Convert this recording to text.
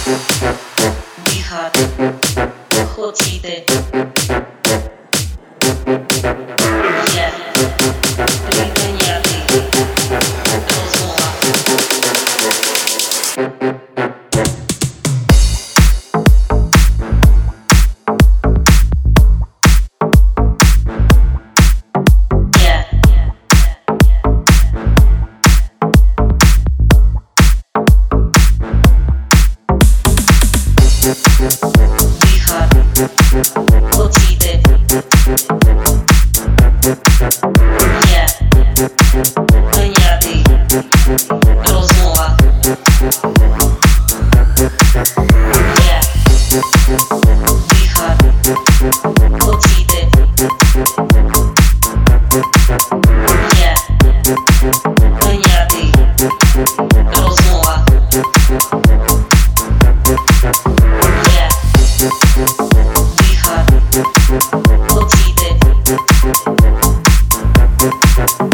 Dýchať, chocíte. Je pripeniatý. Rozmoha. Dýchať, chocíte. Je pripeniatý. Rozmoha. Je dýchať, chocíte. Je pripeniatý. Rozmoha. Dýchať, chocíte.